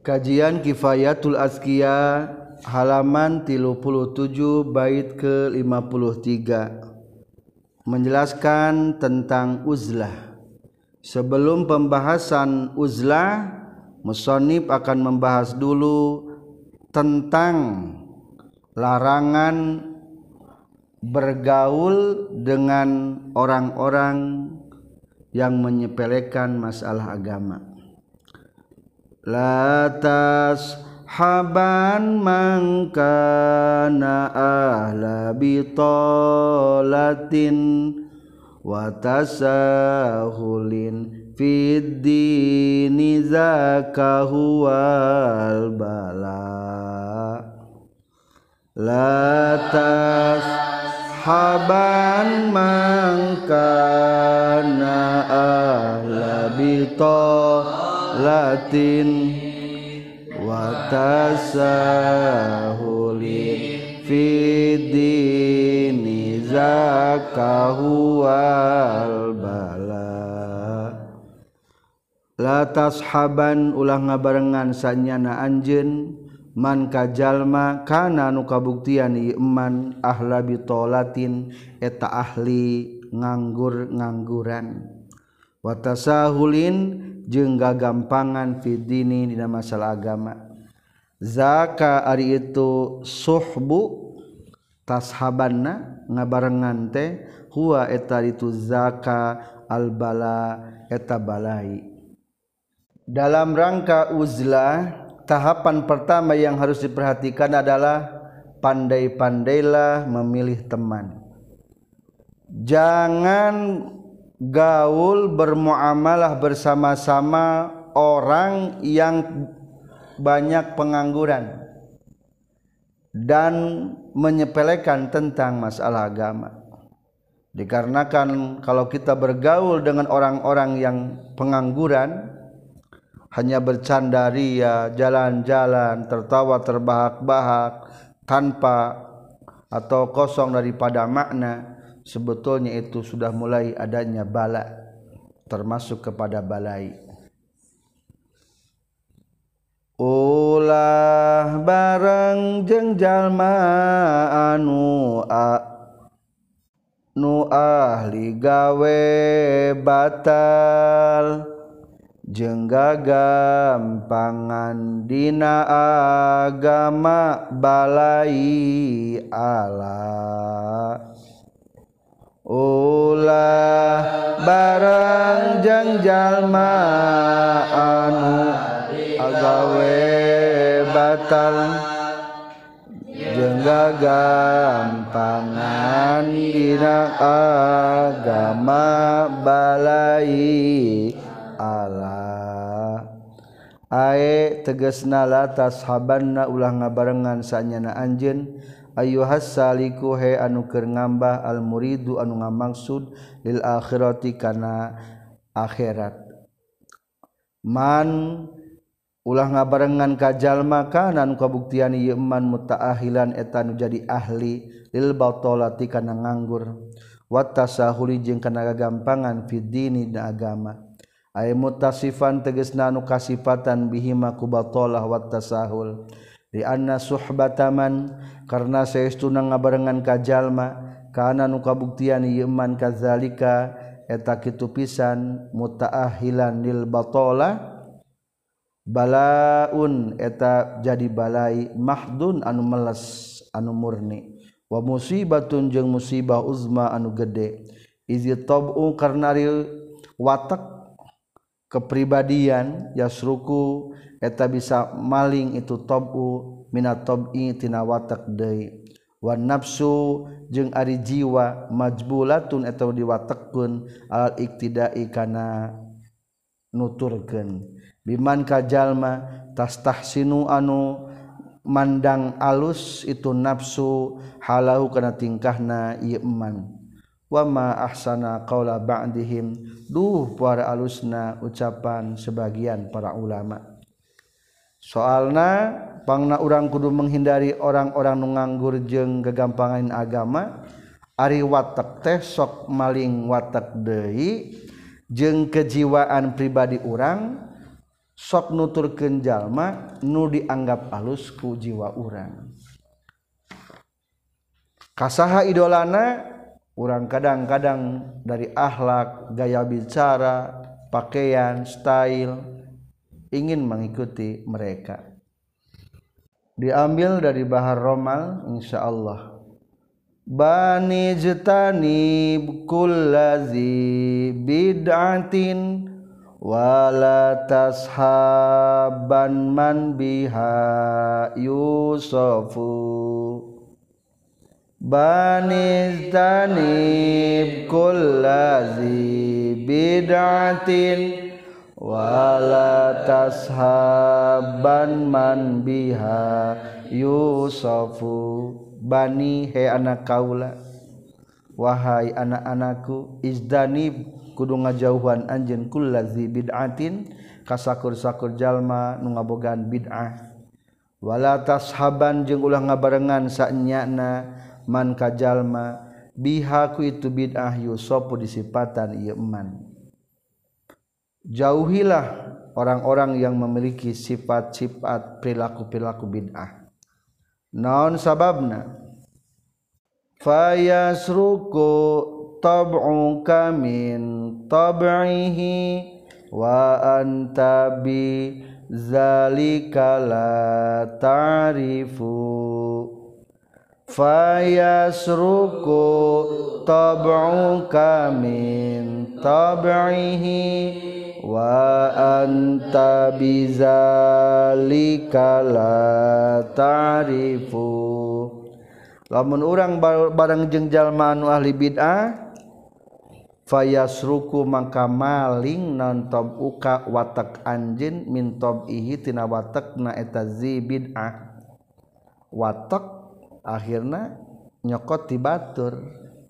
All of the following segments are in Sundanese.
Kajian Kifayatul Azkiya halaman 37 bait ke-53 menjelaskan tentang uzlah. Sebelum pembahasan uzlah, musannif akan membahas dulu tentang larangan bergaul dengan orang-orang yang menyepelekan masalah agama. La tashaban man kana ahla bitolatin wa tasahulin fid dini zakahu wal bala. La tashaban man kana ahla bitolatin wa tasahulin fid dini zakahu wal bala. La tashaban ulah ngabarengan sanyana anjeun man kajalma kana nu kabuktian ieu eman ahla bitolatin eta ahli nganggur-ngangguran wa tasahulin jeung gagampangan fid dini dina masalah agama. Zaka ari itu suhbu tashabanna ngabarengan teh huwa eta itu zaka al bala eta balai. Dalam rangka uzlah, tahapan pertama yang harus diperhatikan adalah pandai-pandailah memilih teman. Jangan gaul bermuamalah bersama-sama orang yang banyak pengangguran dan menyepelekan tentang masalah agama. Dikarenakan kalau kita bergaul dengan orang-orang yang pengangguran, hanya bercanda ria, jalan-jalan, tertawa terbahak-bahak tanpa atau kosong daripada makna, sebetulnya itu sudah mulai adanya bala, termasuk kepada balai. Ulah bareng jeung jalma anu ahli gawe batal jeung gagampangan dina agama balai Allah. Ulah barang jeung jalma anu agawe batal jeung gagampangan dina agama balai Allah. Ae tegasna la tashabanna ulah ngabarengan sanyana anjeun ayyuhas saliku he anu keur ngambah al muridu anu ngamaksud lil akhirati kana akhirat. Man ulah ngabarengan ka jalma kana anu kabuktian ieu man mutaahilan eta anu jadi ahli lil batolati kana nganggur wa tasahuli jeung kana gagampangan fid dini da agama. Ay mutasifan tegasna anu kasifatan bihima ku batalah wa tasahul di anna suhbataman karna saestuna ngabarengan ka jalma kana nu kabuktian ieu man kadzalika eta kitu pisan mutaahilan lil batalah balaun eta jadi balai mahdun anu meles anu murni wa musibatun jeung musibah uzma anu gede izi tabu karna watak kepribadian yasruku eta bisa maling itu tabu minat tabi tina watak deui wa nafsu jeung ari jiwa majbulatun eta diwatekkeun al iktidai kana nuturkeun biman kajalma tastahsinu anu mandang alus itu nafsu halahu kana tingkahna ieu eman. Wa ma ahsana qaula ba'dihim duh para alusna ucapan sebagian para ulama. Soalna pangna urang kudu menghindari orang-orang nu nganggur jeung gagampangan agama ari watak teh sok maling watak deui jeung kejiwaan pribadi urang sok nuturkeun jalma nu dianggap alus ku jiwa urang. Kasaha idolana urang kadang-kadang dari akhlak, gaya bicara, pakaian, style ingin mengikuti mereka. Diambil dari Bahar Romal insyaallah. Bani jtani kullazi bid'atin wala tashaban man biha yusafu. Bani jtani kullazi bid'atin wala tashaban man biha yusafu. Bani he anak kaula, wahai anak-anakku, izdanib kudu ngajauhan anjeun kullazi bid'atin kasakur-sakur jalma nu ngabogaan bid'ah. Wala tashaban jeung ulah ngabarengan saenyana man ka jalma biha ku itu bid'ah yusafu disipatan ieu man. Jauhilah orang-orang yang memiliki sifat-sifat perilaku-perilaku bid'ah. Naon sababna? Fayasruku tab'uka min tab'ihi wa anta bi zalika la ta'rifu. Fayasruku tab'uka min tab'ihi wa anta bizalika la ta'rifu. Lamun urang bareng jeung jalma anu ahli bid'ah fayasruku maka maling naon tabuka watak anjeun min tabihi tina watakna eta zi bid'ah. Watak akhirna nyokot ti batur,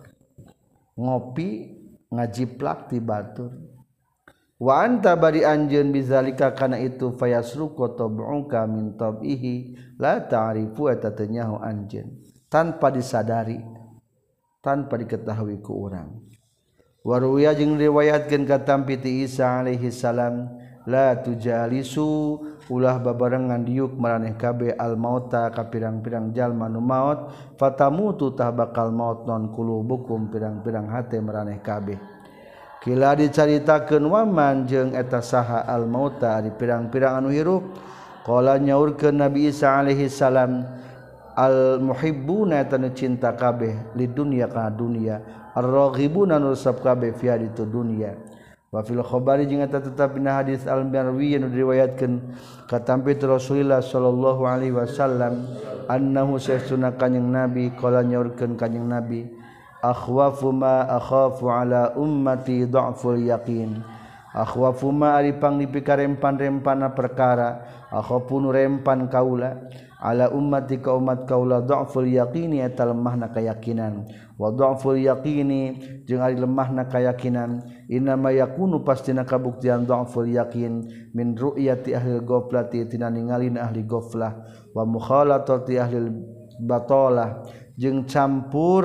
ngopi ngajiplak ti batur. Wa anta bari anjeun bizalika kana itu fayasruku tabuka min tabihi la ta'rifu eta teu nyaho anjeun tanpa disadari, tanpa diketahui ku urang. Waruya jeung riwayatkeun ka tampi ti Isa alaihi salam la tujalisu ulah babarengan diuk maraneh kabeh al mauta ka pirang-pirang jalma nu maot fatamutu tah bakal maot non kulubukum pirang-pirang hate maraneh kabeh. Kila dicaritakeun waman jeung eta saha al mauta ari pirang-pirang anu hirup. Qala nyaurkeun Nabi Isa alaihi salam al muhibbuna tanu cinta kabeh li dunya ka dunya ar-raghibuna nusab kabeh fi haditu dunya. Wa fil khabari jeung eta tetep dina hadis al-marwi anu diriwayatkeun ka tampi Rasulullah sallallahu alaihi wasallam annahu sesuna kanjing Nabi qala nyaurkeun kanjing Nabi akhwafu ma akhafu ala ummati dha'ful yaqin. Akhwafu ma ari pangdipi karempan-rempana perkara akhafu nu rempan kaula ala ummati ka umat kaula dha'ful yaqini eta lemahna keyakinan wa dha'ful yaqini jeung ari lemahna keyakinan innama yakunu pastina kabuktian dha'ful yaqin min ru'yati ahli ghaflati tina ningalina ahli ghaflah wa mukhalatati ahli batalah jeung campur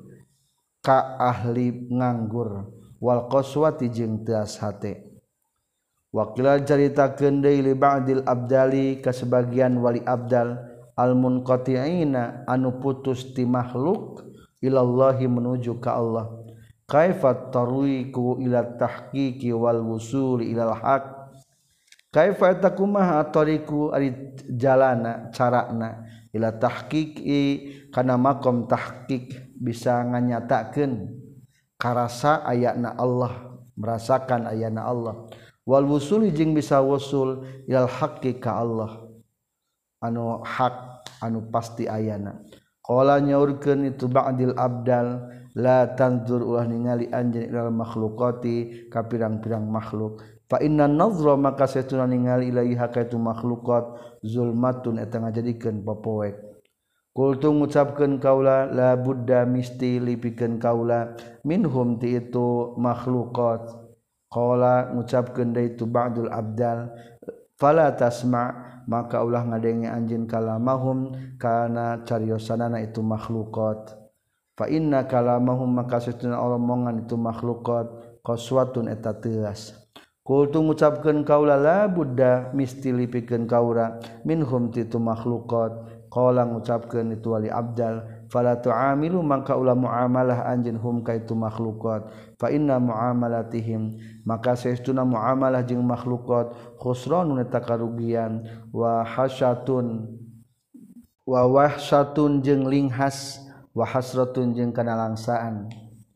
ka ahli nganggur wal qaswati jeung teas hate. Wakila caritakeun deui li ba'dil abdali ka sebagian wali abdal al munqati'ina anu putus ti makhluk ilallahi menuju ka Allah. Kaifa tarwiku ila tahqiqi wal wusuli ilal haq. Kaifa takumaha tariku ari jalana carana ila tahqiqi kana makom tahqiq bisa nganyatakeun karasa ayana Allah, merasakan ayana Allah. Wal wusuli jeung bisa wusul ilal haqqi ka Allah anu hak anu pasti ayana. Qala nyaurkeun itu ba'dil abdal la tanzur ulah ningali anjeun ilal makhluqati ka pirang-pirang makhluk fa inna nazra maka satuna ningali ilaiha ka itu makhluqat zulmatun eta ngajadikeun popoek. Qultu ngucapkeun kaula la budda misti lipikeun kaula minhum ti itu makhluqat. Qala ngucapkeun deui tu ba'dul abdal fala tasma maka ulah ngadenge anjeun kalamahum kana cariosanana itu makhluqat fa inna kalamahum maka satuna omongan itu makhluqat qaswatun eta teuas Qultu ngucapkeun kaula la budda misti lipikeun kaura minhum titu makhluqat. Qala ngucapkeun itu wali abdal fala tu'amilu maka ulah muamalah anjeun hum ka itu makhluqat fa inna muamalatihim maka saestuna muamalah jeung makhluqat khusranun eta karugian wa hasyatun wa wahsatun jeung linghas wa hasratun jeung kana langsaan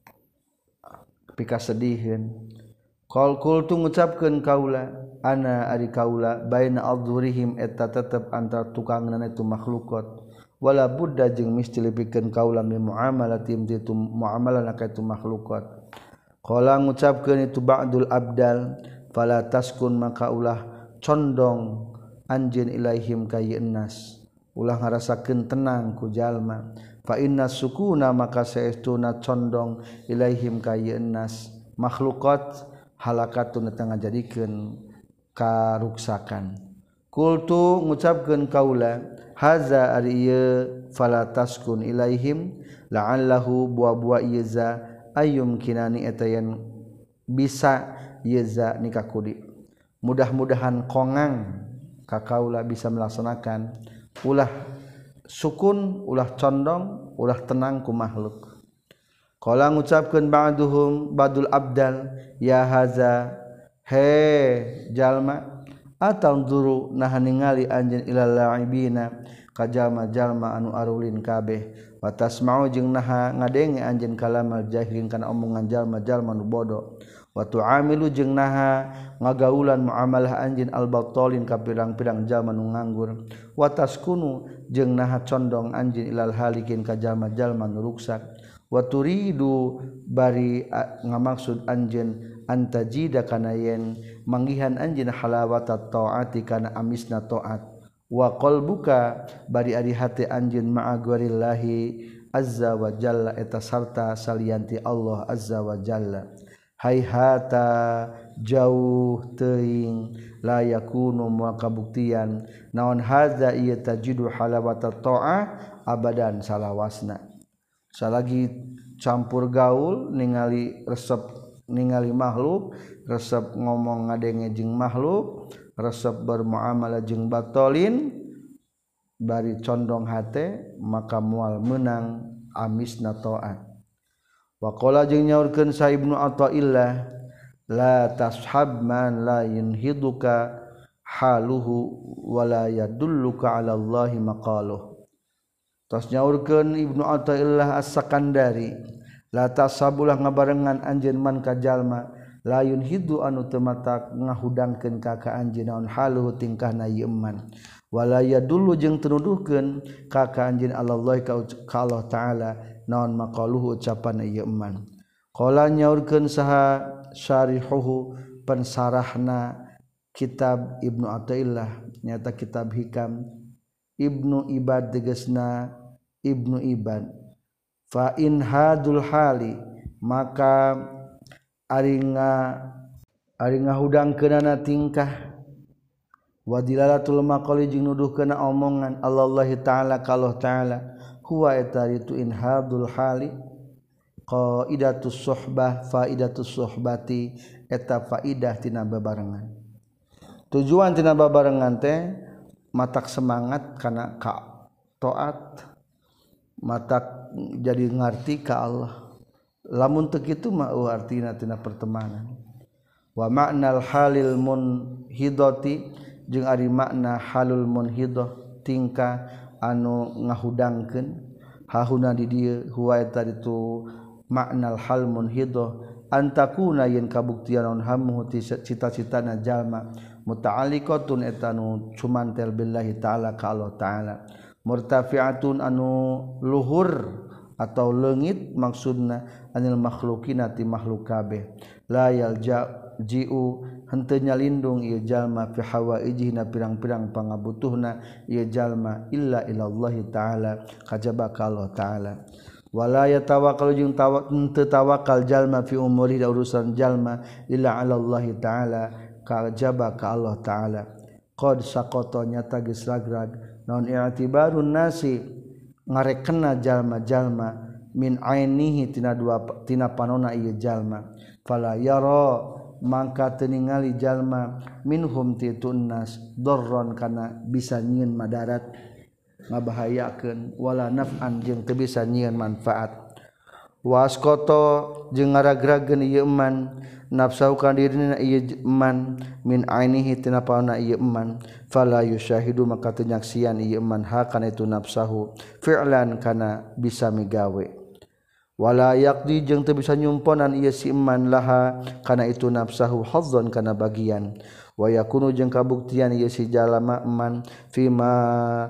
pika sedihieun. Qal qultu ngucapkeun kaula ana ari kaula baina adzurihim eta tetep antara tukangna itu makhluqat wala budda jeung misti lipikeun kaula min muamalatim itu muamalah ka itu makhluqat. Qala ngucapkeun itu ba'dul abdal fala taskun maka ulah condong anjeun ilaihim ka yeunnas ulah ngarasakeun tenang ku jalma fa inna sukuna maka saestuna condong ilaihim ka yeunnas makhluqat halakatun eta ngajadikeun karuksakan. Qultu ngucapkeun kaula haza ari ieu fala taskun ilaihim la'allahu buah-buah ieu za ayyum kinani eta yen bisa ieu za nikakudi mudah-mudahan kongang ka kaula bisa melaksanakan ulah sukun ulah condong ulah tenang ku makhluk. Qala ngucapkeun ba'duhum badul abdal ya haza he jalma atanzuru nah ningali anjeun ilal laibina ka jalma-jalma anu arulin kabeh wa tasma'u jeung nah ngadenge anjeun kalamal jahilin kana omongan jalma-jalma nu bodoh wa tu'amilu jeung nah ngagaulan muamalah anjeun al-battalin ka pirang-pirang jalma nu nganggur wa taskunu jeung nah condong anjeun ilal halikin ka jalma-jalma nu ruksak wa turidu bari ngamaksud anjeun antajida kana yen manggihan anjeun halawata taati kana amisna taat wa qalbuka bari ari hate anjeun ma'a gharillahi azza wa jalla eta sarta salianti Allah azza wa jalla hayhata jauh teuing la yakunu moal kabuktian naon hadza ieu tajidu halawata ta'a abadan salawasna salagi campur gaul ningali resep ningali makhluk resep ngomong ngadenge jeung makhluk resep bermuamalah jeung batolin bari condong hate maka moal meunang amisna taat. Wa qala jeung nyaurkeun sa Ibnu Athaillah la tashab man la yunhiduka haluhu wala yadulluka ala Allahi maqaluh. Tos nyaurkeun Ibnu Athaillah As-Sakandari la tasabulah ngabarengan anjeun man ka jalma la yunhidu anu teu matak ngahudangkeun ka anjeun naon haluhu tingkahna ieu man wala yadullu jeung teu nuduhkeun ka anjeun Allah ka Allah taala naon maqaluhu ucapan ieu man. Qala nyaurkeun saha syarihuhu pensarahna kitab Ibnu Athaillah nyata kitab Hikam Ibnu Ibad tegasna Ibnu Ibad fa in hadul hali maka ari ngahudangkeunana tingkah wa dilalatul maqali jeung nuduhkeunna omongan Allah taala ka Allah taala huwa eta itu in hadul hali qaidatus suhbah faidatus suhbati eta faidah tina babarengan tujuan tina babarengan teh matak semangat kana ka taat matak jadi ngarti ka Allah lamun teu kitu mah artina tina pertemanan wa ma'nal halil munhidati jeung ari makna halul munhidah tingkah anu ngahudangkeun hahuna di dieu huwa eta itu maknal hal munhidah antakuna yen kabuktian naon hammu cita-citana jalma muta'alliqatun eta nu cumantel billahi ta'ala ka Allah ta'ala murtafi'atun anu luhur atau leungit maksudna anil makhluqina ti makhluk kabeh la yalji'u henteu nyalindung ieu jalma fi hawaijina pirang-pirang pangabutuhna ieu jalma illa ilallahi ta'ala kajaba ka Allah ta'ala wala yatawakkal jeung teu tawakal jalma fi umuri da urusan jalma illa ala Allah ta'ala kajaba ka Allah ta'ala qad saqata nyata geus ragrag naon i'tibarun nasi ngarekenna jalma-jalma min ainihi tina panonna ieu jalma fala yara mangka teu ningali jalma minhum ti tunnas darron kana bisa nyieun madarat ngabahayakeun wala naf'an jeung teu bisa nyieun manfaat waskoto jeung ngaragrageun ieu eman nafsahu kana dirina ieu eman min ainihi tina paona ieu eman fala yusyahidu maka teu nyaksian ieu eman ha kana itu nafsahu fi'lan kana bisa migawe wala yaqdi jeung teu bisa nyumponan ieu si eman laha kana itu nafsahu hazzan kana bagian wa yakunu jeung kabuktian ieu si jalma eman fima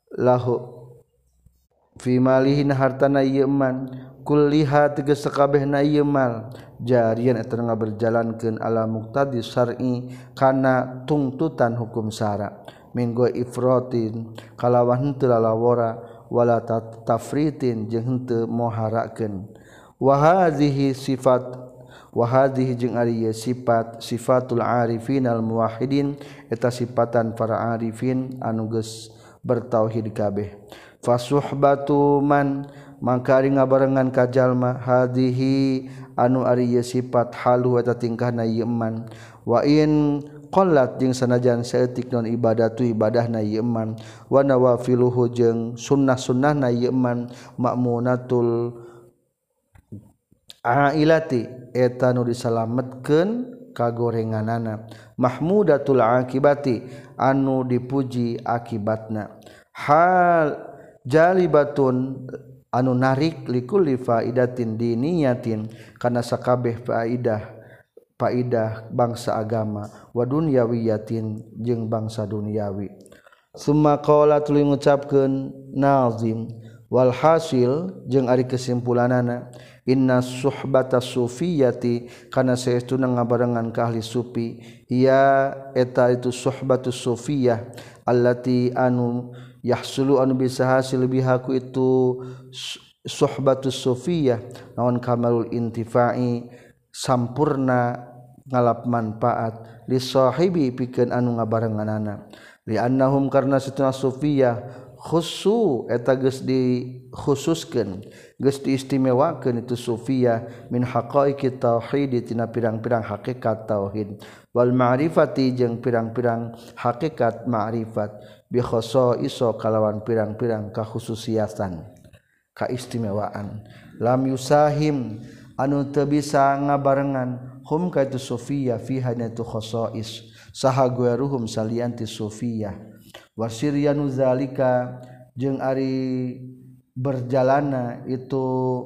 lihin hartana ieu eman kulliha tegas sakabehna ieu mal jarian eta ngaberjalankeun ala muqtadi syar'i kana tungtutan hukum syara minggo ifratin kalawan henteu lalawara wala tafritin jeung henteu moharakeun wa hadhihi jeung ari sifat sifatul arifin al muwahhidin eta sifatan para arifin anu geus bertauhid kabeh fasuhbatu man maka ari ngabarengan ka jalma hadhihi anu ari sifat halu eta tingkahna ieu eman wa in qallat jeung sanajan saeutik non ibadatu ibadahna ieu eman wa nawafiluhu jeung sunnah-sunnahna ieu eman ma'munatul ailati eta nu disalametkeun kagorenganana mahmudatul akibati anu dipuji akibatna hal jalibatun anu narik likulli faidatin diniyatin kana sakabeh faidah bangsa agama wa dunyawiyatin jeung bangsa duniawi summa qala tuluy ngucapkeun nazim wal hasil jeung ari kesimpulanana inna suhbata sufiyati kana saestuna ngabarengan ka ahli sufi ya eta itu suhbatus sufiyah allati anu yahsulu anu bisa hasil bihaku itu suhbatus sufiyah naon kamalul intifa'i sampurna ngalap manfaat li sahibi pikeun anu ngabarenganana li annahum karna satuna sufiyah khusu eta geus dikhususkeun geus diistimewakeun itu sufiyah min haqaiqit tauhid tina pirang-pirang hakikat tauhid wal ma'rifati jeung pirang-pirang hakikat ma'rifat bi khasaiso kalawan pirang-pirang kakhususiatan kaistimewaan lam yusahim anu teu bisa ngabarengan hum ka itu sufiyah fi hanatu khasais saha gueruhum salianti sufiyah wasiryanu zalika jeung ari berjalana itu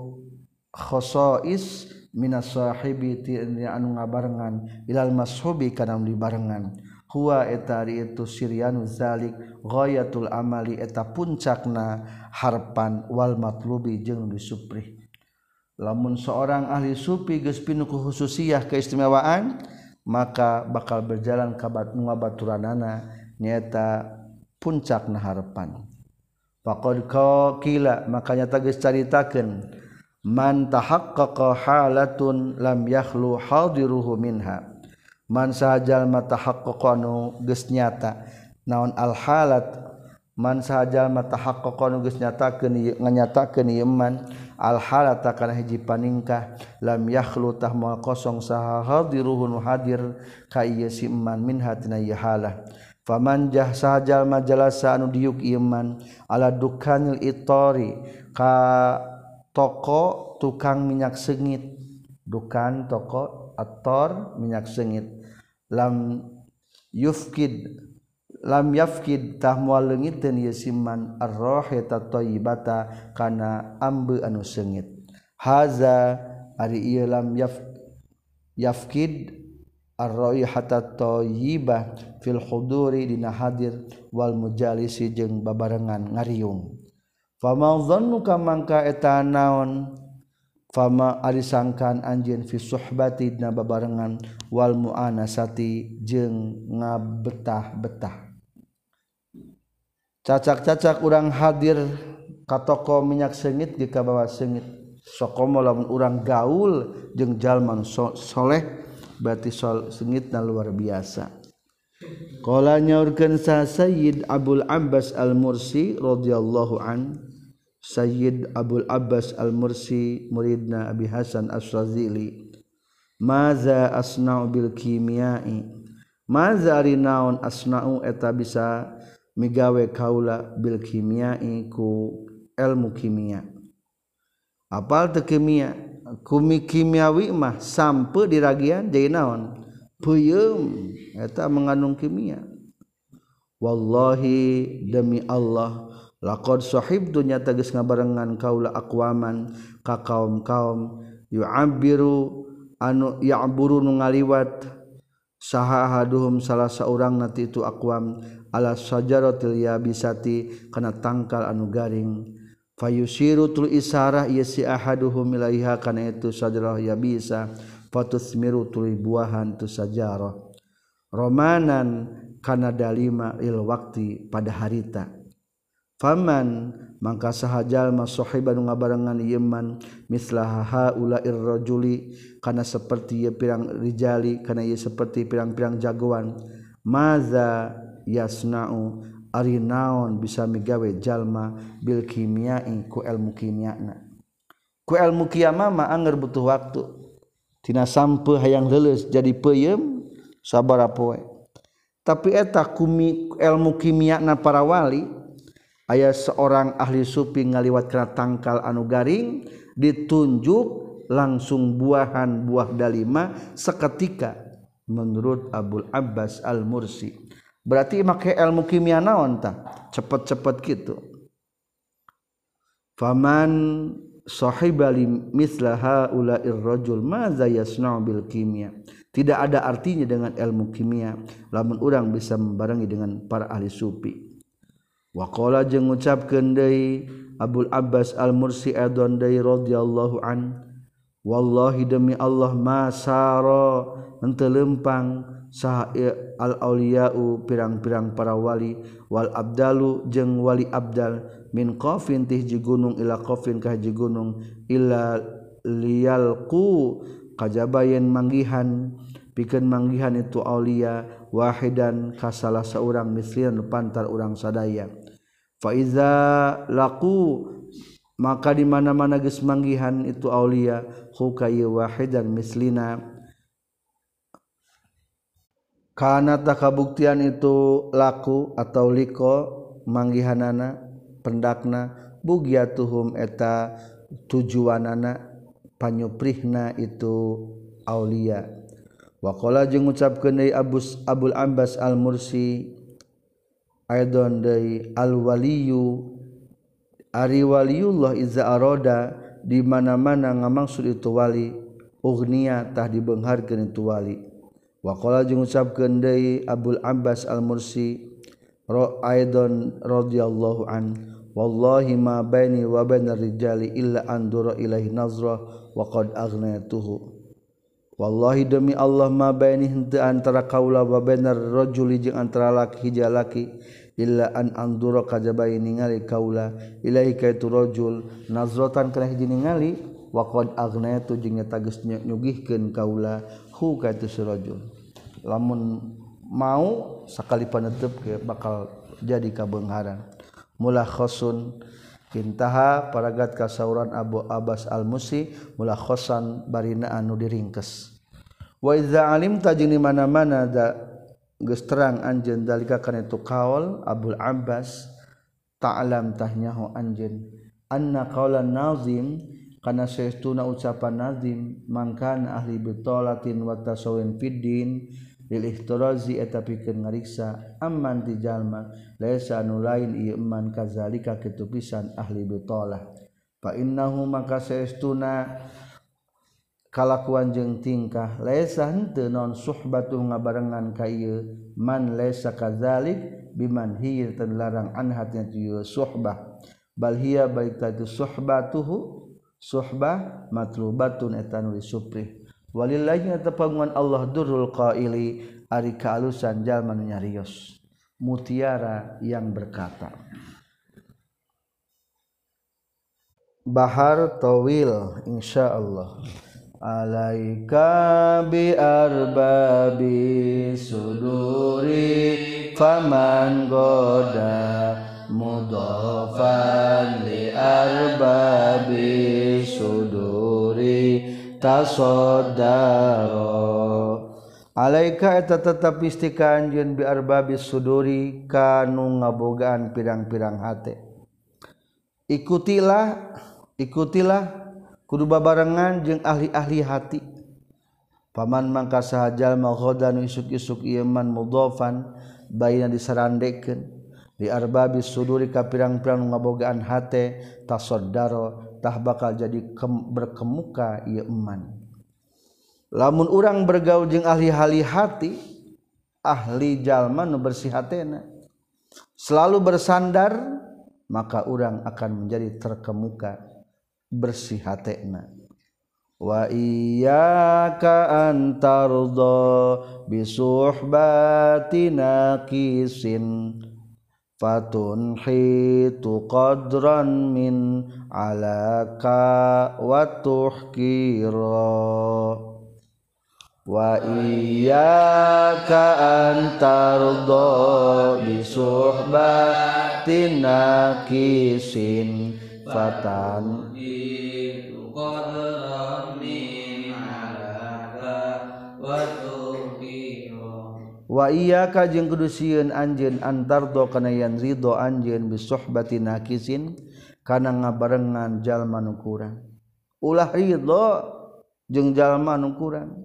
khasais minas sahibi ti anu ngabarengan ilal mashubi kana dibarengan huwa eta ari itu siryanu zalik ghayatul amali eta puncakna harpan wal matlubi jeung disuprih lamun seorang ahli sufi geus pinu ku khususiyah keistimewaan maka bakal berjalan ka ngabaturanana nyaeta puncakna harapan faqad qila makanya geus caritakeun man tahaqqaqa halatun lam yakhlu hadiruhu minha man sahajal matahaqqaqa anu geus nyata naon al halat man sahajal matahaqqaqa anu geus nyatakeun nganyatakeun ieu man al halata kana hiji paningkah lam yakhlu tah moal kosong saha hadiruhu nu hadir ka ieu si man min hatina ieu halah faman jah sahajal majalasa anu diuk ieu man ala dukanil itori ka toko tukang minyak sengit dukan toko ator minyak sengit lam yafkid tah moal leungiteun ieu siman ar-rahata thayyibata kana ambe anu sengit haza ari ieu lam yafkid ar-raihata thayyibah fil huduri dina hadir wal mujalisi jeung babarengan ngariung fama dhannuka mangka eta naon fama ari sangkan anjeun fi suhbati dina babarengan wal muanasati jeung ngabetah-betah cacak-cacak urang hadir ka toko minyak sengit di ka bawah sengit sakomo lamun urang gaul jeung jalma soleh berarti sengitna luar biasa. Qala nyaurkeun sa Sayyid Abul Abbas Al-Mursi radhiyallahu an Sayyid Abul Abbas Al-Mursi muridna Abi Hasan Asy-Syadzili maza asna'u bil kimiai maza ari naon asna'u eta bisa migawe kaula bil kimiai ku ilmu kimia apal teu kimia kumi kimiawi mah sampe diragian jadi naon peuyeum eta mengandung kimia wallahi demi Allah laqad sahibtu nyata geus ngabarengan kaula aqwaman ka kaum-kaum yu'abbiru anu ya'buru nu ngaliwat sahahaduhum salah saurang nanti itu aqwam ala sajaratil yabisati kana tangkal anu garing fayusiru tul isarah ieu si ahaduhum ilaiha kana itu sajarah yabisa fatusmiru tul buahan tu sajarah romanan kana dalima il waqti pada harita faman mangka sahajal masahiban ngabarengan yeman mislaha ulair rajuli kana seperti ye pirang rijali kana ye seperti pirang-pirang jagoan maza yasna'u ari naon bisa migawe jalma bil kimiai ku ilmu kimiana ku ilmu kiamah mah angger butuh waktu tina sampe hayang leuleus jadi peuyeum sabaraha poe tapi eta kumi ilmu kimiana para wali aya seorang ahli supi ngaliwat kana tangkal anu garing ditunjuk langsung buahan buah dalima seketika menurut Abul Abbas Al-Mursi berarti make ilmu kimia naon tah cepet-cepet kitu faman sahibali mislaha ulair rajul madza yasna'u bil kimia tidak ada artinya dengan ilmu kimia lamun urang bisa membarengi dengan para ahli sufi wa qala jeung ngucapkeun deui Abul Abbas Al-Mursi adon deui radhiyallahu an wallahi demi Allah masara henteu lempang sah al auliyau pirang-pirang para wali wal abdalu jeung wali abdal min qafin tih ji gunung ila qafin ka ji gunung illa liyalqu kajabayen manggihan pikeun manggihan itu aulia wahidan ka salah saurang mislian pantar urang sadaya fa iza laqu maka di mana-mana geus manggihan itu aulia hu kay wahidan mislina kana takabuktian itu laku atau liko manggihanana pendakna bugiatuhum eta tujuanana panyuprihna itu aulia wa qala jeung ngucapkeun deui Abul Abbas Al-Mursi aidon deui al-waliyu ari waliullah iza arada di mana-mana ngamaksud itu wali ugniya tah dibeungharkeun itu wali wa qala jeung ngucapkeun deui Abul Abbas Al-Mursi aidon radhiyallahu an wallahi ma baini wa bainar rijali illa andura ilaihi nazra wa qad aghnaytuhu wallahi demi Allah ma baini henteu antara kaula wa bainar rajuli jeung antara laki hiji laki illa an andura kajaba ningali kaula ilaihi ka itu rajul nazratan kana hiji ningali wa qad aghnaytu jeung nyata geus nyugihkeun kaula hu ka itu rajul lamun mau sakali panetep ke bakal jadi kabeungharan mulakhasun kintaha paragat kasauran Abu Abbas Al-Musi mulakhasan barina anu diringkes wa iza alimta jeung di mana-mana da geus terang anjeun dalika kana itu kaul Abul Abbas ta'lam tahnyahu anjeun anna qaulan nazim kana saestuna ucapan nazim mangkana ahli bitolatin wa tasawwin fiddin lil ihtirazi eta pikeun ngariksa amman ti jalma laisa anu lain ieu man kazalika kitu pisan ahli bitolah fa innahu maka saestuna kalakuan jeung tingkah laisa henteu non suhbatu ngabarengan ka ieu man laisa kadzalik biman hiya tan larang an hatnya ieu suhbah bal hiya baik tatu suhbatuhu suhbah matlubatun eta nu disuprih walillahi tapanguan Allah durrul qaili ari kaalusan jalma nu nyarios mutiara yang berkata bahar tawil insyaallah alaika bi arbabi suduri faman goda mudhafan li arbabi suduri tasaddaro alaika eta tetep istika anjeun bi arbabis suduri kanu ngabogaan pirang-pirang hate ikutilah kudu babarengan jeung ahli-ahli hati paman mangka saha jalma ghadan isuk-isuk ieu man mudhafan baina disarandekeun di arbabis suduri ka pirang-pirang ngabogaan hate tasaddaro tah bakal jadi berkemuka ieu eman lamun urang bergaul jeung ahli hati ahli jalma nu bersih hatena selalu bersandar maka urang akan menjadi terkemuka bersih hatena wa iyyaka antardo bisuhbati naqisin fatunhitu qadran min alaka wa tuhkira wa iyyaka antardo bisuhbati naqisin fatan wa iyyaka jeung kudu sieun anjeun antardo kana yan ridho anjeun bisuhbati naqisin kana ngabarengan jalma nu kurang ulah ridho jeung jalma nu kurang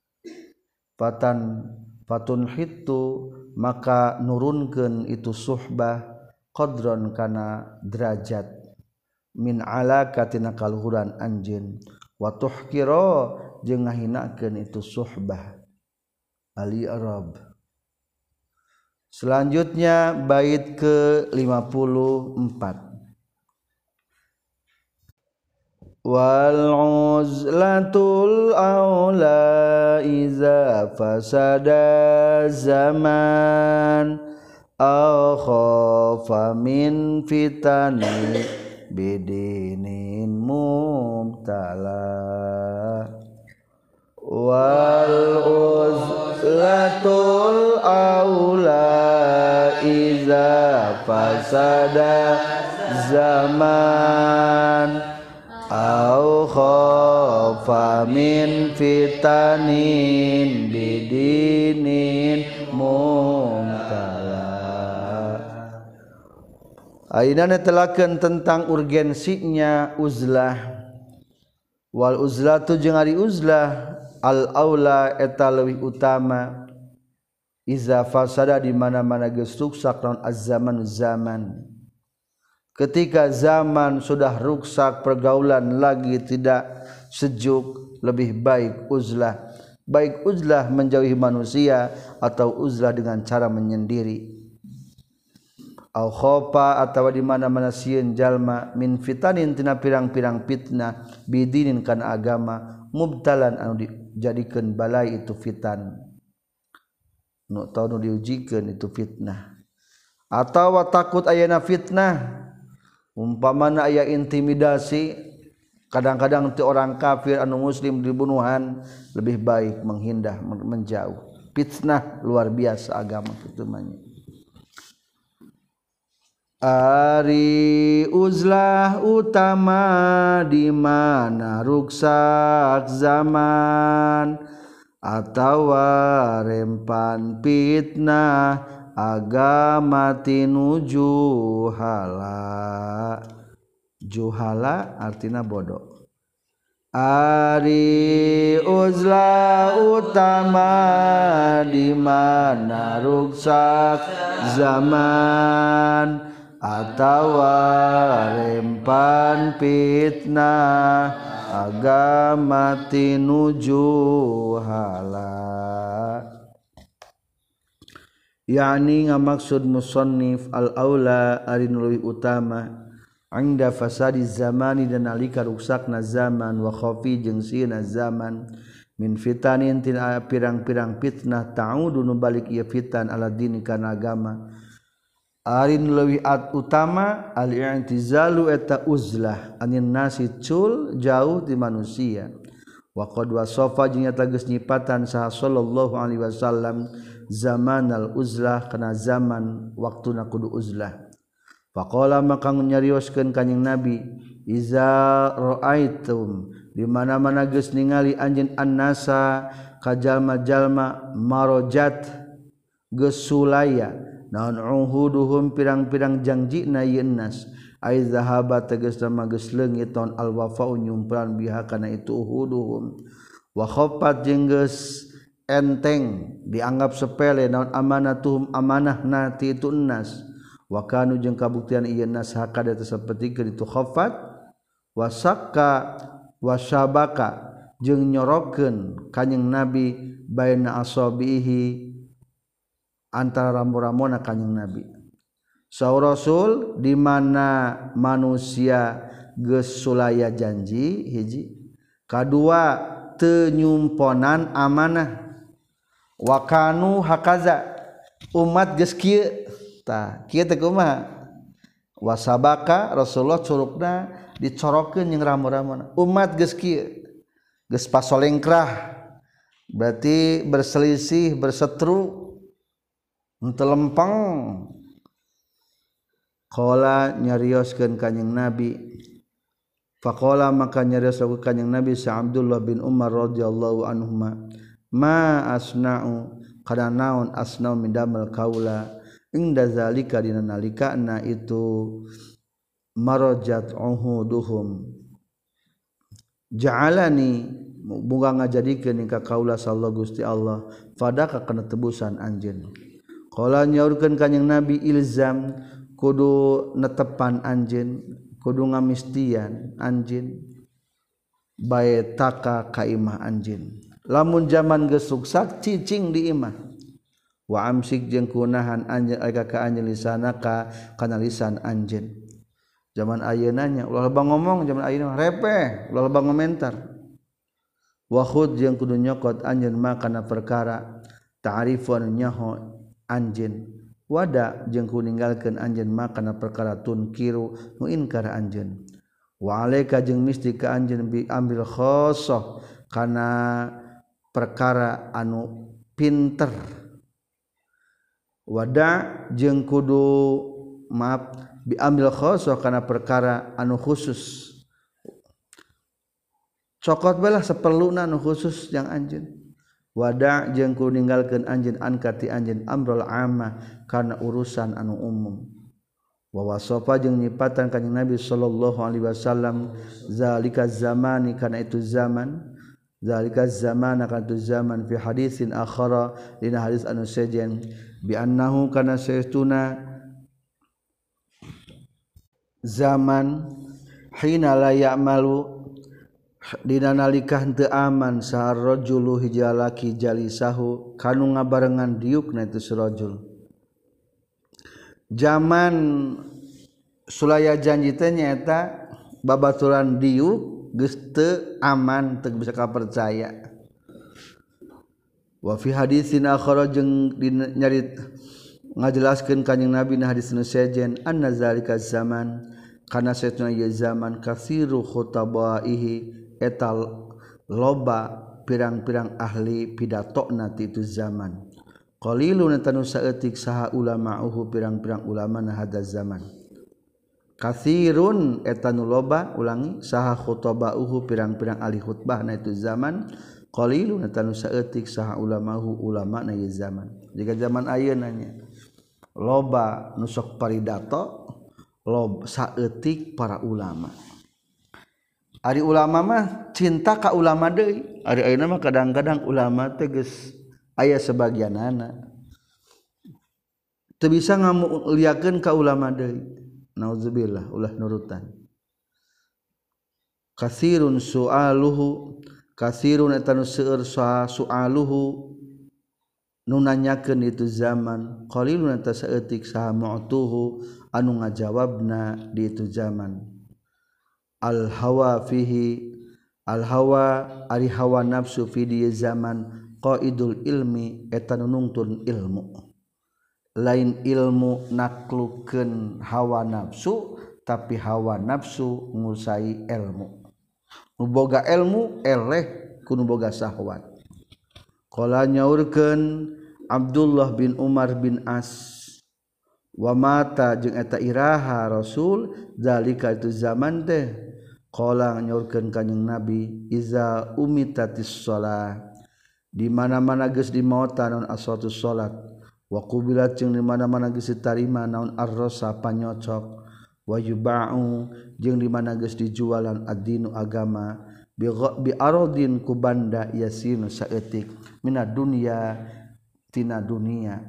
fatun hitu maka nurunkeun itu suhbah qadron kana derajat min alaka tina kaluhuran anjeun wa tuhkira jeung ngahinakeun itu suhbah ali arab selanjutnya bait ke 54 wal uzlatul aula iza fasada zaman aw khafa min fitani bidinin mubtala wal uzlatul aula iza fasada zaman au khafa min fitanin bidinin mumtala ayeuna netelakeun tentang urgensinya uzlah wal uzlatu jeung ari uzlah al aula eta leuwih utama iza fasada di mana-mana geus ruksak naon az-zaman ketika zaman sudah rusak pergaulan lagi tidak sejuk lebih baik uzlah menjauhi manusia atau uzlah dengan cara menyendiri au khofa atau di mana-mana sieun jalma min fitanin tina pirang-pirang fitnah bidinin kana agama mubtalan anu dijadikeun balai itu fitan nu diujikeun itu fitnah atawa takut ayana fitnah umpamana aya intimidasi kadang-kadang ti orang kafir anu muslim dibunuhan lebih baik menghindar menjauh fitnah luar biasa agama kitu mah ari uzlah utama di mana ruksak zaman atawa rempan fitnah agama tinuju juhala artina bodoh ari uzlah utama di mana ruksak zaman atawa rempan fitnah agama tinuju hala yakni ngamaksud musannif al aula ari nu leuwih utama anda fasadi zamani dan nalika ruksakna zaman wa khafi jeung sieuna zaman min fitanin tina pirang-pirang fitnah ta'udu nu balik ieu fitan ala din kana agama ari nu leuwih utama al i'tizalu eta uzlah anin nasi cul jauh di manusia wa qad wasafa jeung nyata geus nyipatan saha sallallahu alaihi wasallam zaman al uzlah kana zaman waktuna kudu uzlah faqala maka nyarioskeun kanjing nabi iza raaitum di mana-mana geus ningali anjeun annasa ka jalma-jalma marojat geus sulaya naon uhuduhum pirang-pirang janjina ieu nas ai zahaba tegasna geus leungit naon al wafa'u nyumpran biha kana itu uhuduhum wa khaffat jeung geus enteng dianggap sepele naon amanatuhum amanahna ti itu nas wa kanu jeung kabuktian ieu nas hakada sapertikeun itu khaffat wasakka wasyabaka jeung nyorokeun kanjing Nabi baina asabihi antara rambu-rambuna kanjing Nabi saur Rasul di mana manusia geus sulaya janji hiji kadua teu nyumponan amanah wa kanu hakaza umat geus kieu tah kieu teh kumaha wasabaka Rasulullah curugna dicorokeun jeung rambu-rambuna umat geus kieu geus pasolengkrah berarti berselisih berseteru henteu lempeng qala nyarioskeun kanjing Nabi faqala maka nyarioskeun kanjing Nabi sa Abdullah bin Umar radhiyallahu anhuma ma asna'u kana naon asna'u min damal kaula inda zalika dina nalikana itu marajat uhuduhum ja'alani bunga ngajadikeun ka kaula sallallahu Gusti Allah fadaka kana tebusan anjeun qala nyaurkeun kanjing Nabi ilzam kudu netepan anjeun kudu ngamistian anjeun baetaka ka imah anjeun lamun zaman geus suksak cicing di imah wa amsik jeung kunahan anjeun ka anjeun lisanaka kana lisan anjeun zaman ayeuna nya ulah loba ngomong zaman ayeuna repeh ulah loba ngomentar wa khud jeung kudu nyokot anjeun ma kana perkara ta'rifun nyaho anjeun wada jeung kudu ninggalkeun anjeun ma kana perkara tunkiru nu inkar anjeun wa alaika jeung misti ka anjeun bi ambil khosoh kana perkara anu pinter wada jeung kudu maaf bi ambil khosoh kana perkara anu khusus cokot bae lah saperluna anu khusus yang anjeun wada jeung kudu ninggalkeun anjeun ankati anjeun amrul amma kana urusan anu umum wa wasofa jeung nyipatan kanjing Nabi sallallahu alaihi wasallam zalika zamani kana itu zaman zalika zamana kana itu zaman fi hadisin akhara dina hadis anu sejen bi annahu kana saytuna zaman hina la ya'malu dina nalika henteu aman sahar rajulu hiji lalaki jalisahu kanu ngabarengan diukna itu sarajul zaman sulaya janji teh nyaeta babaturan diuk geus teu aman teu bisa kapercaya wa fi hadisin akhara jeung nyarit ngajelaskeun kanjing Nabi na hadis nu sejen anna zalika zaman kana satuna ieu zaman katsiru khutabaihi etal loba pirang-pirang ahli pidatona ti itu zaman qalilun tanu saeutik saha ulama'uhu pirang-pirang ulama na hada zaman katsirun etanu loba ulangi saha khutabauhu pirang-pirang ahli khutbah na itu zaman qalilun tanu saeutik saha ulama'uhu ulama na ieu zaman jika zaman ayeuna nya loba nu sok paridato loba saeutik para ulama ari ulama mah cinta ka ulama deui ari ayeuna mah kadang-kadang ulama teh geus aya sebagianana teu bisa ngamuliakeun ka ulama deui nauzubillah ulah nurutan katsirun sualuhu katsirun eta nu seueur sualuhu nu nanyakeun itu zaman qalilun eta saeutik saha mu'tuhu anu ngajawabna di itu zaman al hawa fihi al hawa ari hawa nafsu fi di zaman qaidul ilmi eta nu nungtun ilmu lain ilmu naklukeun hawa nafsu tapi hawa nafsu ngusai ilmu nu boga ilmu eleh kudu boga syahwat qala nyaurkeun Abdullah bin Umar bin As wa mata jeung eta iraha Rasul zalika itu zaman teh qala nyaurkeun kanjing Nabi iza umitatis shalah di mana-mana geus dimaotan naon as-salatus salat wa qubilat jeung di mana-mana geus ditarima naon ar-rasa panyocok wa yuba'u jeung di mana geus dijualan ad-dinu agama bi aradin ku banda yasin saeutik minad dunya tina dunia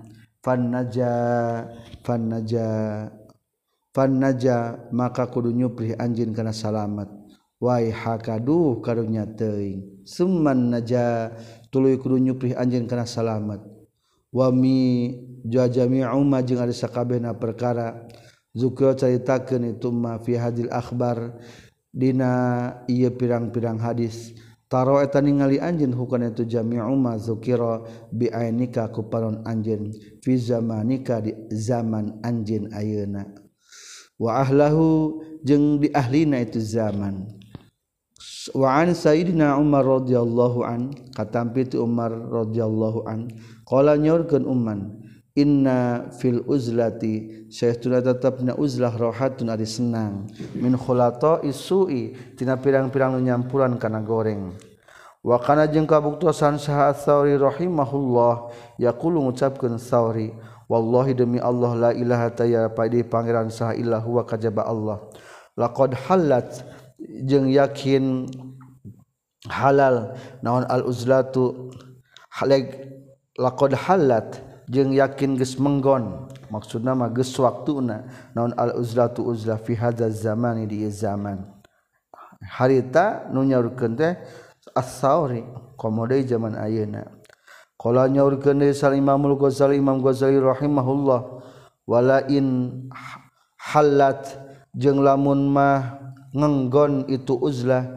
fannaja maka kudu nyuprih anjeun kana salamet wai hakaduh karunya teuing summan naja tuluy kudu nyuprih anjeun kana salamet wa mi jami'u ma jeung ari sakabehna perkara zukra caritakeun itu ma fi hadil akhbar dina ieu pirang-pirang hadis taro eta ningali anjeun hukana itu jami'u ma zukira bi ainika ku paron anjeun fi zamanika di zaman anjeun ayeuna wa ahlahu jeung di ahlina itu zaman wa an sayyidina Umar radhiyallahu an katampi tu Umar radhiyallahu an qala nyaurkeun umman inna fil uzlati saestuna tetepna uzlah rohatun ari senang min khulata isu'i tina pirang-pirang nyampuran kana goreng wa kana jeung kabuktosan saha Tsauri rahimahullah yaqulu ngucapkeun Tsauri wallahi demi Allah la ilaha taya padi pangeran saha illa huwa kajaba Allah laqad halat jeung yakin halal naon al uzlatu haleg laqad halat jeung yakin geus menggon maksudna mah geus waktuna naon al uzlatu uzlah fi hadzal zamani di zaman harita nu nyaurkeun teh as-Tsauri komo deui zaman ayeuna qala nyaurkeun deui Imamul Ghazali Imam Ghazali rahimahullah wala in halat jeung lamun mah ngenggon itu uzlah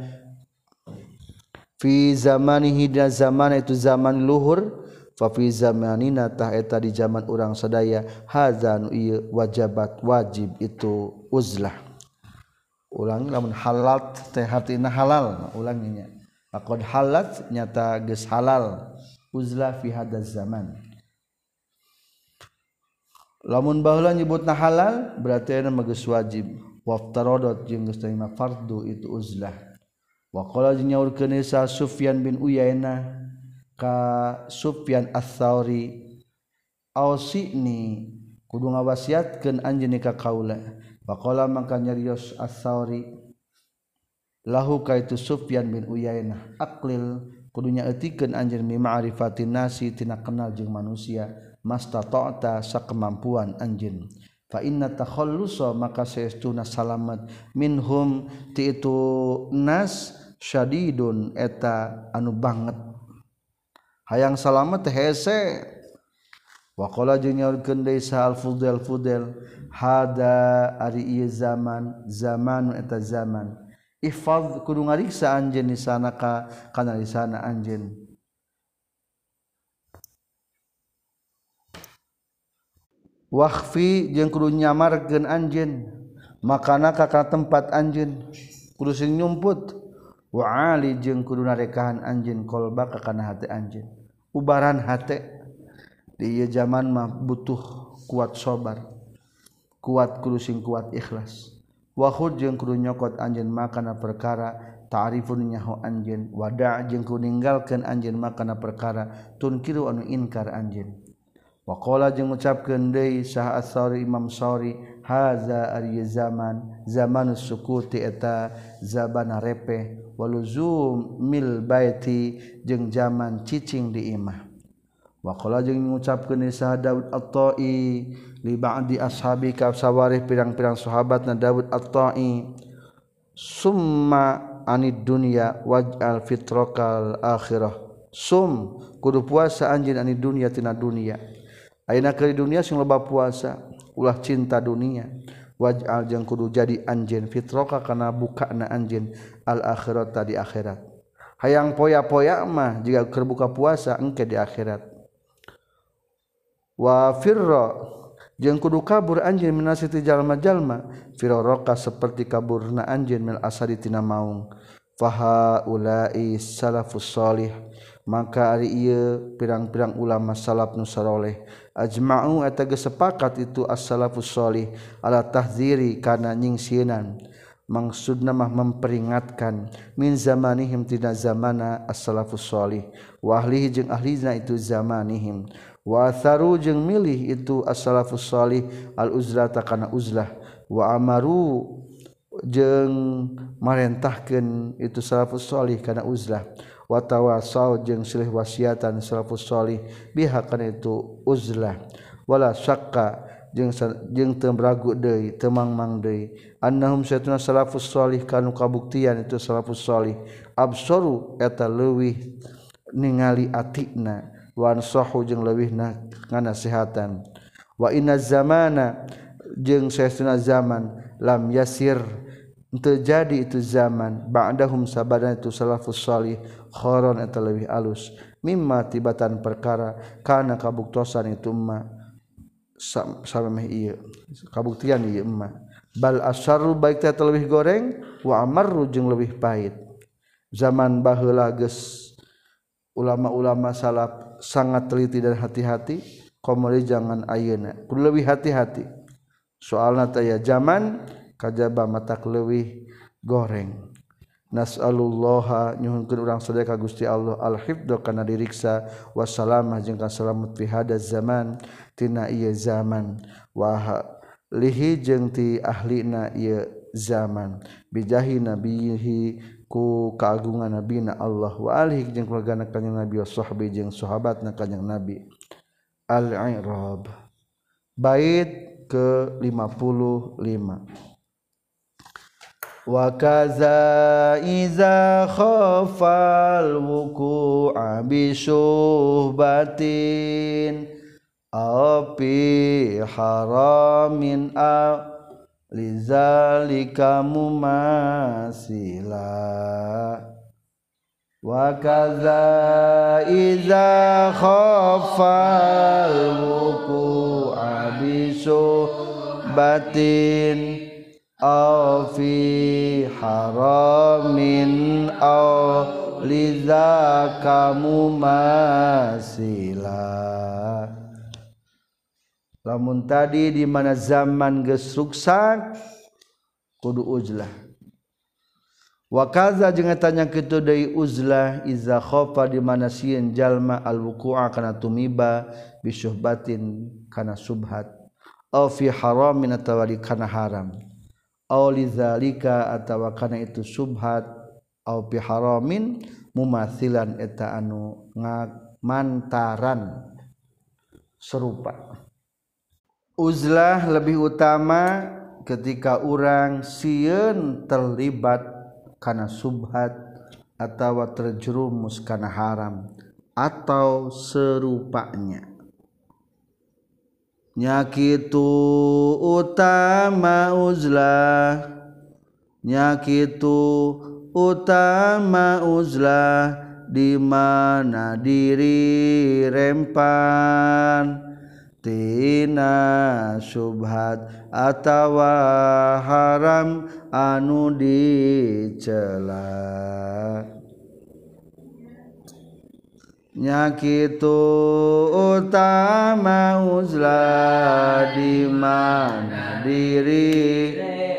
fi zamanihi da zaman itu zaman luhur fa fi zamanina tah eta di zaman urang sadaya hadzan ieu wajabat wajib itu uzlah ulangi lamun halat teh hartina halal ulanginya laqad halat nyata geus halal uzlah fi hadzal zaman lamun baheula nyebutna halal berarti aya geus wajib waftaradot jeung geus tarima fardu itu uzlah wa qala nyaurkeun sa Sufyan bin Uyainah ka Sufyan Ats-Tsauri ausini kudu ngawasiatkeun anjeun ka kaula wa qala mangka nyarios Ats-Tsauri lahu ka itu Sufyan bin Uyainah aqlil kudu nyaeutikeun anjeun mi ma'rifatin nasi tina kenal jeung manusia mastata'ta sakemampuan anjeun fa inna takhallusa maka saestuna salamet minhum ti itu nas syadidun eta anu banget hayang salamet teh hese wa qala jeung nyaurkeun deui sa al-Fudail hada ari ieu zaman eta zaman ihfaz kudu ngariksa anjeun di sana kana di sana anjeun wakhfi jeung kudu nyamarkeun anjeun makana ka tempat anjeun kudu sing nyumput wa ali jeung kudu narekahan anjeun qalba kana hati anjeun ubaran hate di ieu zaman mah butuh kuat sabar kuat kudu sing kuat ikhlas wa khud jeung kudu nyokot anjeun makana perkara ta'rifun nyaho anjeun wada jeung kudu ninggalkeun anjeun makana perkara tunkiru anu inkar anjeun wa qala jeung ngucapkeun deui saha Ats-Tsauri Imam Tsauri haza ari zaman zamanus sukuti eta zabana repeh waluzum mil baiti jeung zaman cicing di imah wa qala jeung ngucapkeun deui saha Daud At-Tai li ba'di ashabi ka sawarih pirang-pirang sahabatna Daud At-Tai summa anid dunya waj'al fitrakal akhirah sum kudu puasa anjeun anid dunya tina dunya ayeuna keur dunia sing loba puasa ulah cinta dunia waj'al jeung kudu jadi anjeun fitraka kana bukana anjeun al akhirata di akhirat hayang poya-poya mah jiga keur buka puasa engke di akhirat wa firra jeung kudu kabur anjeun minasiti jalma-jalma firaraka seperti kaburna anjeun mil asari tina maung faha ulai salafus salih maka ari ieu pirang-pirang ulama salaf nu saleh ajma'u eta geus sepakat itu as-salafus salih ala tahdziri kana nyingsienan maksudna mah memperingatkan min zamanihim tina zamana as-salafus shalih wa ahlihi jeung ahlina itu zamanihim wa atharu jeung milih itu as-salafus shalih al-uzlata kana uzlah wa amaru jeung marentahkeun itu salafus shalih kana uzlah wa tawasau jeung silih wasiatan salafus shalih biha kana itu uzlah wala syaqqa jeung teu ragu deui teu mangmang deui annahum satuna salafus shalih kanu kabuktian itu salafus shalih absaru eta leuwih ningali atina wa ansahu jeung leuwihna nganasihatan wa inna zamana jeung saestuna zaman lam yasir teu jadi itu zaman ba'dahum sabana itu salafus shalih khoron eta leuwih alus mimma tibatan perkara kana kabuktosan itu mah samemeh ieu kabuktian ieu mah bal asyarru baik teh leuwih goreng wa amarru jeung leuwih pahit zaman baheula geus ulama-ulama salaf sangat teliti dan hati-hati komori jangan ayeuna kudu leuwih hati-hati soalna teh ya zaman kajaba matak leuwih goreng nas'alullaha nyuhunkeun urang sadaya ka Gusti Allah al-hifdz kana diriksa wassalamah jeung kasalamet fi hadaz zaman tina ieu zaman wa lihi jeung ti ahlina ieu zaman bijahi nabihi ku kaagungan nabina Allah wa alihi jeung keluargana kanjeng Nabi wa sahbi jeung sahabatna kanjeng Nabi al-i'rab bait ke 55 wa kaza iza khafal wuku'a bi syuhbatin api haramin lizalika mumasila wa kaza iza khafal wuku'a bi syuhbatin aw fi haramin aw lizaka mumasila lamun tadi di mana zaman geus ruksak kudu uzlah wa kaza jeung eta nya kitu deui uzlah iza khafa di mana sieun jalma al wuqu'a kana tumiba bi syuhbatin kana subhat aw fi haramin atawa di kana haram aw lidzalika atawa kana itu subhat aw bi haramin mumathilan eta anu ngamantaran serupa uzlah lebih utama ketika urang sieun terlibat kana subhat atawa terjerumus kana haram atau serupanya nyakitu utama uzlah nyakitu utama uzlah di mana diri rempan tina subhat atawa haram anu dicela nyakitu utama uzlah di mana diri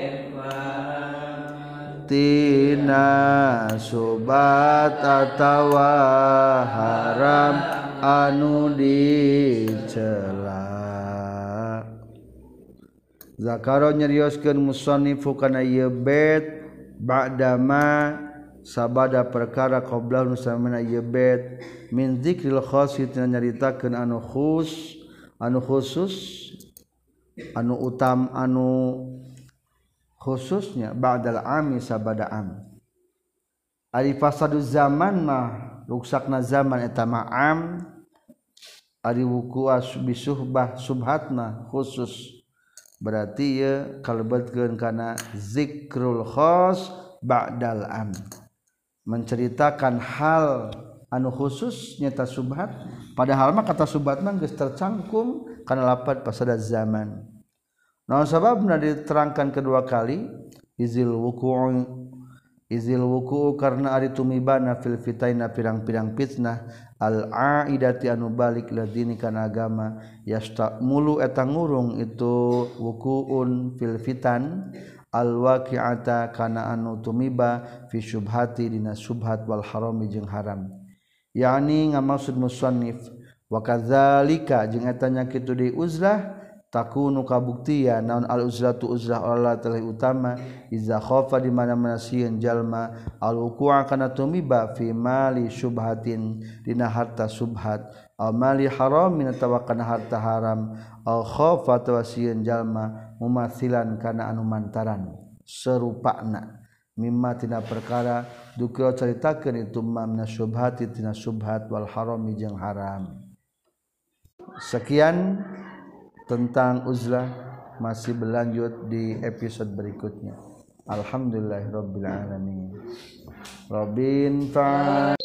tina subhat atawa haram anu dicela zakaro nyarioskeun musannifu kana ieu bait ba'dama sabada perkara qabla nusamana ieu bait min dzikril khas nyaritakeun anu khusus anu utam anu khususnya ba'dal ami sabada am ari fasaduz zaman mah ruksakna zaman eta ma'am ari wuku'a bisuhbah subhatna khusus berarti ya kalebetkeun kana zikrul khas ba'dal am menceritakan hal anu khusus nyata subhat padahal mah kata subhat mah geus tercangkum kana lafaz pasada zaman naon sababna diterangkan kedua kali izil wuku'u karena ari tumibana fil fitaina pirang-pirang fitnah al aidati anu balik ladini kana agama yastamulu eta ngurung itu wuku'un fil fitan al-waqi'ata kana anu tumiba fi syubhati dina syubhat wal harami jeung haram yakni ngamaksud musannif wa kadzalika jeung eta nya kitu deui uzlah takunu kabuktian naon al uzlatu uzlah Allah telah utama iza khafa di mana-mana sieun jalma al wuqu'a kana tumiba fi mali syubhatin dina harta subhat al mali haramin atawa kana harta haram al khafa atawa sieun jalma mumathilan kana anu mantaran serupana mimma tina perkara dukira caritakeun itu mamna syubhati tina subhat wal harami jeung haram. Sekian tentang uzlah, masih berlanjut di episode berikutnya. Alhamdulillahirabbil alamin. Rabbin